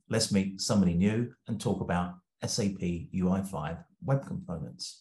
let's meet somebody new and talk about SAP UI5 web components.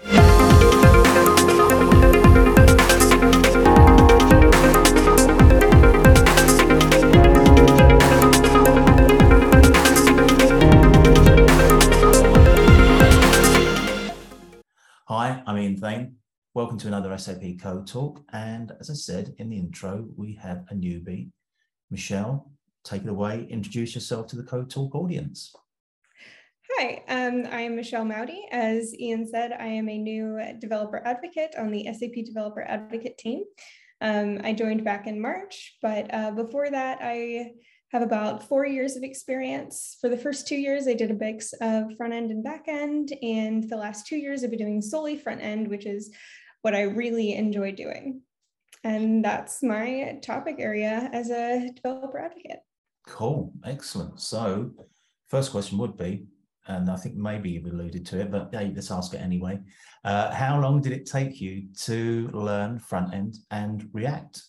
Hi, I'm Ian Thane. Welcome to another SAP Code Talk. And as I said in the intro, we have a newbie. Michelle, take it away. Introduce yourself to the Code Talk audience. Hi, I am Michelle Mowdy. As Ian said, I am a new developer advocate on the SAP Developer Advocate team. I joined back in March, but before that, I have about 4 years of experience. For the first 2 years, I did a mix of front end and back end, and the last 2 years I've been doing solely front end, which is what I really enjoy doing. And that's my topic area as a developer advocate. Cool, excellent. So first question would be, and I think maybe you've alluded to it, but hey, let's ask it anyway. How long did it take you to learn front end and React?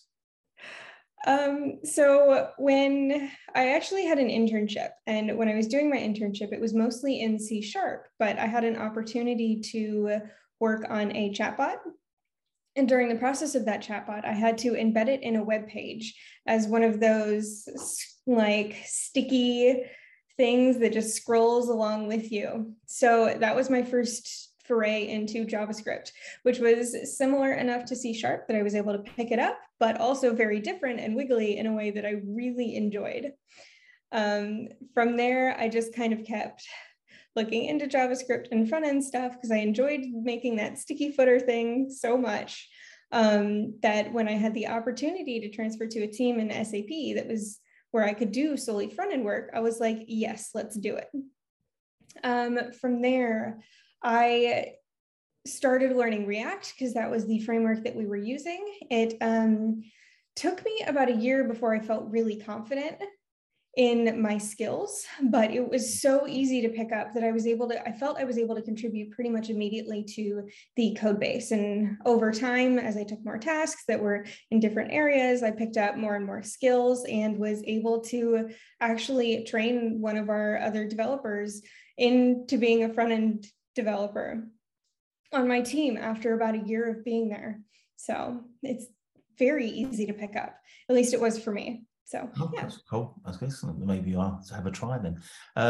So when I actually had an internship, and when I was doing my internship, it was mostly in C#, but I had an opportunity to work on a chatbot. And during the process of that chatbot, I had to embed it in a web page as one of those like sticky things that just scrolls along with you. So that was my first foray into JavaScript, which was similar enough to C# that I was able to pick it up, but also very different and wiggly in a way that I really enjoyed. From there, I just kind of kept looking into JavaScript and front end stuff because I enjoyed making that sticky footer thing so much that when I had the opportunity to transfer to a team in SAP that was where I could do solely front end work, I was like, yes, let's do it. From there, I started learning React because that was the framework that we were using. It took me about a year before I felt really confident in my skills, but it was so easy to pick up that I felt I was able to contribute pretty much immediately to the code base. And over time, as I took more tasks that were in different areas, I picked up more and more skills and was able to actually train one of our other developers into being a front-end developer on my team after about a year of being there. So it's very easy to pick up. At least it was for me. So yeah. That's cool. That's excellent. Maybe I'll have a try then.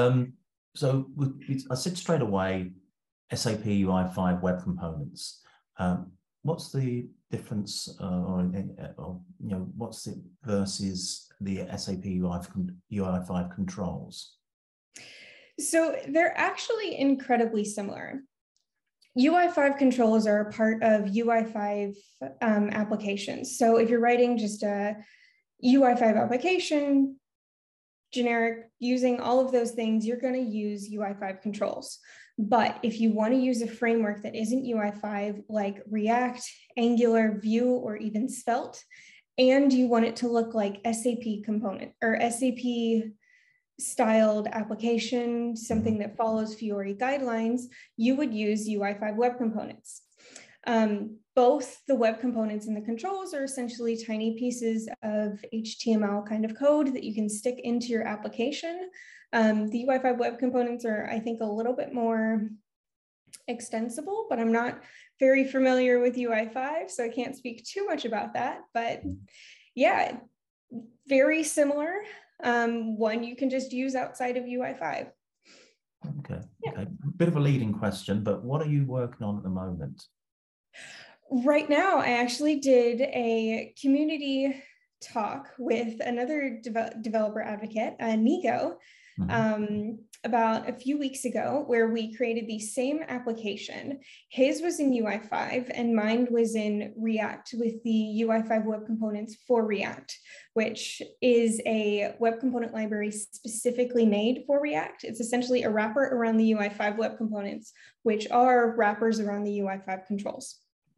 I said straight away, SAP UI5 web components. What's the difference, what's it versus the SAP UI5 controls? So they're actually incredibly similar. UI5 controls are a part of UI5 applications. So if you're writing just a UI5 application, generic, using all of those things, you're going to use UI5 controls. But if you want to use a framework that isn't UI5, like React, Angular, Vue, or even Svelte, and you want it to look like SAP component or SAP styled application, something that follows Fiori guidelines, you would use UI5 web components. Both the web components and the controls are essentially tiny pieces of HTML kind of code that you can stick into your application. The UI5 web components are, I think, a little bit more extensible, but I'm not very familiar with UI5, so I can't speak too much about that. But yeah, very similar. One you can just use outside of UI5. Okay. Bit of a leading question, but what are you working on at the moment? Right now, I actually did a community talk with another developer advocate, Nico, about a few weeks ago, where we created the same application. His was in UI5 and mine was in React with the UI5 web components for React, which is a web component library specifically made for React. It's essentially a wrapper around the UI5 web components, which are wrappers around the UI5 controls.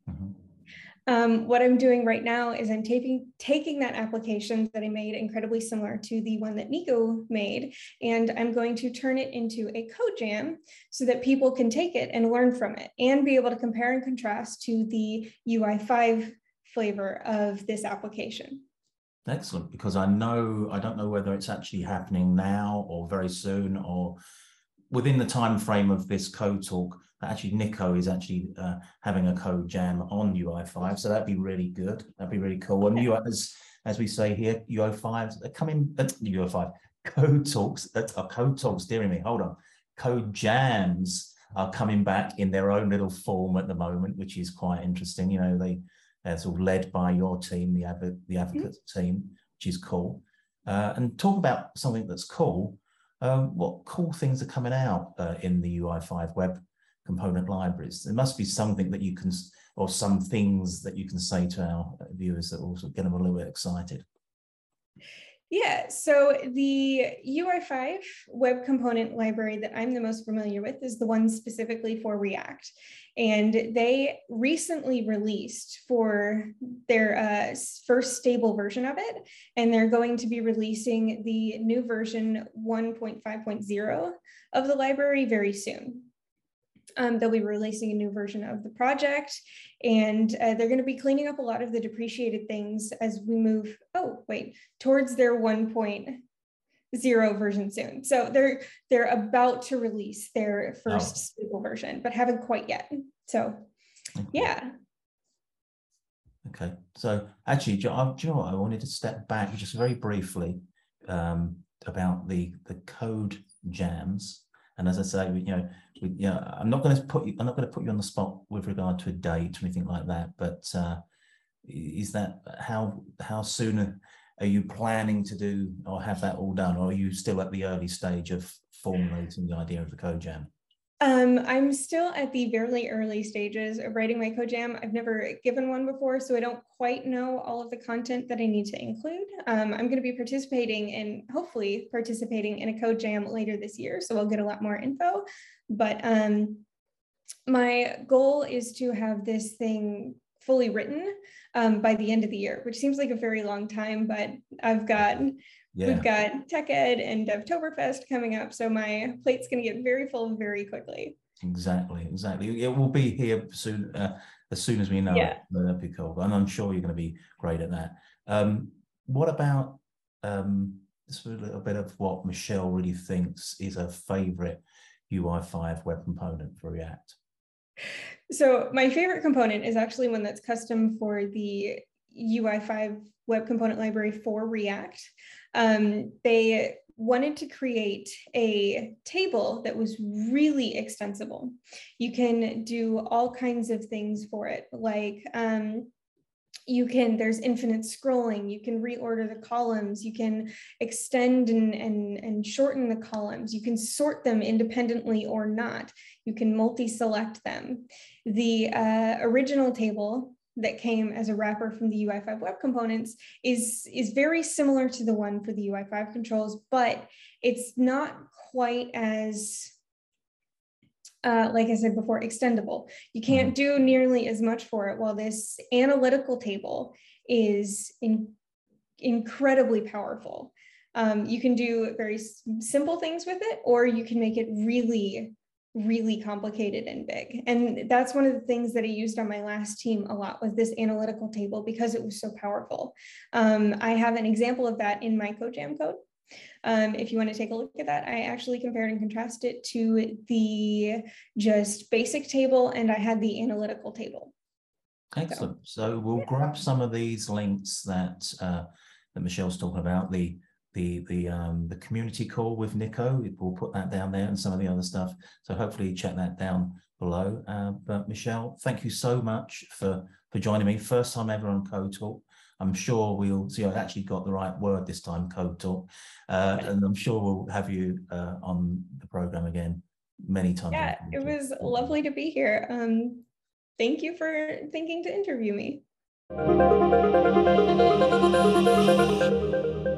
What I'm doing right now is I'm taking that application that I made incredibly similar to the one that Nico made, and I'm going to turn it into a code jam so that people can take it and learn from it and be able to compare and contrast to the UI5 flavor of this application. Excellent, because I don't know whether it's actually happening now or very soon or within the time frame of this code talk. Actually, Nico is actually having a code jam on UI5, so that'd be really good. That'd be really cool. And you, as we say here, UI5s are coming. UI5 code talks. Code talks. Dear me, hold on. Code jams are coming back in their own little form at the moment, which is quite interesting. You know, they're sort of led by your team, the advocates team, which is cool. And talk about something that's cool. What cool things are coming out in the UI5 web component libraries? There must be something that you can, or some things that you can say to our viewers that will get them a little bit excited. Yeah, so the UI5 web component library that I'm the most familiar with is the one specifically for React. And they recently released for their first stable version of it. And they're going to be releasing the new version 1.5.0 of the library very soon. They'll be releasing a new version of the project, and they're going to be cleaning up a lot of the depreciated things as we move, towards their 1.0 version soon. So they're about to release their first stable version, but haven't quite yet. So, yeah. Okay. So actually, do you know what? I wanted to step back just very briefly about the code jams. And as I say, I'm not going to put you on the spot with regard to a date or anything like that. But is that how soon are you planning to do or have that all done, or are you still at the early stage of formulating the idea of the code jam? I'm still at the very early stages of writing my code jam. I've never given one before, so I don't quite know all of the content that I need to include. I'm going to be hopefully participating in a code jam later this year, so I'll get a lot more info. But my goal is to have this thing fully written by the end of the year, which seems like a very long time, but we've got Tech Ed and Devtoberfest coming up, so my plate's going to get very full very quickly. Exactly. It will be here soon, as soon as we know. Yeah. That'd be cool. And I'm sure you're going to be great at that. What about just a little bit of what Michelle really thinks is her favorite UI5 web component for React? So my favorite component is actually one that's custom for the UI5 web component library for React. They wanted to create a table that was really extensible. You can do all kinds of things for it, like there's infinite scrolling, you can reorder the columns, you can extend and shorten the columns, you can sort them independently or not, you can multi-select them. The original table that came as a wrapper from the UI5 web components is very similar to the one for the UI5 controls, but it's not quite as like I said before, extendable. You can't do nearly as much for it, while this analytical table is incredibly powerful. You can do very simple things with it, or you can make it really, really complicated and big. And that's one of the things that I used on my last team a lot, was this analytical table, because it was so powerful. I have an example of that in my CodeJam code. If you want to take a look at that, I actually compared and contrasted it to the just basic table, and I had the analytical table. Excellent. So we'll grab some of these links that Michelle's talking about, the community call with Nico. We'll put that down there, and some of the other stuff. So hopefully check that down below. But Michelle, thank you so much for joining me. First time ever on Code Talk. I'm sure we'll see. I actually got the right word this time, Code Talk, and I'm sure we'll have you on the program again many times. Yeah, it was lovely to be here. Thank you for thinking to interview me.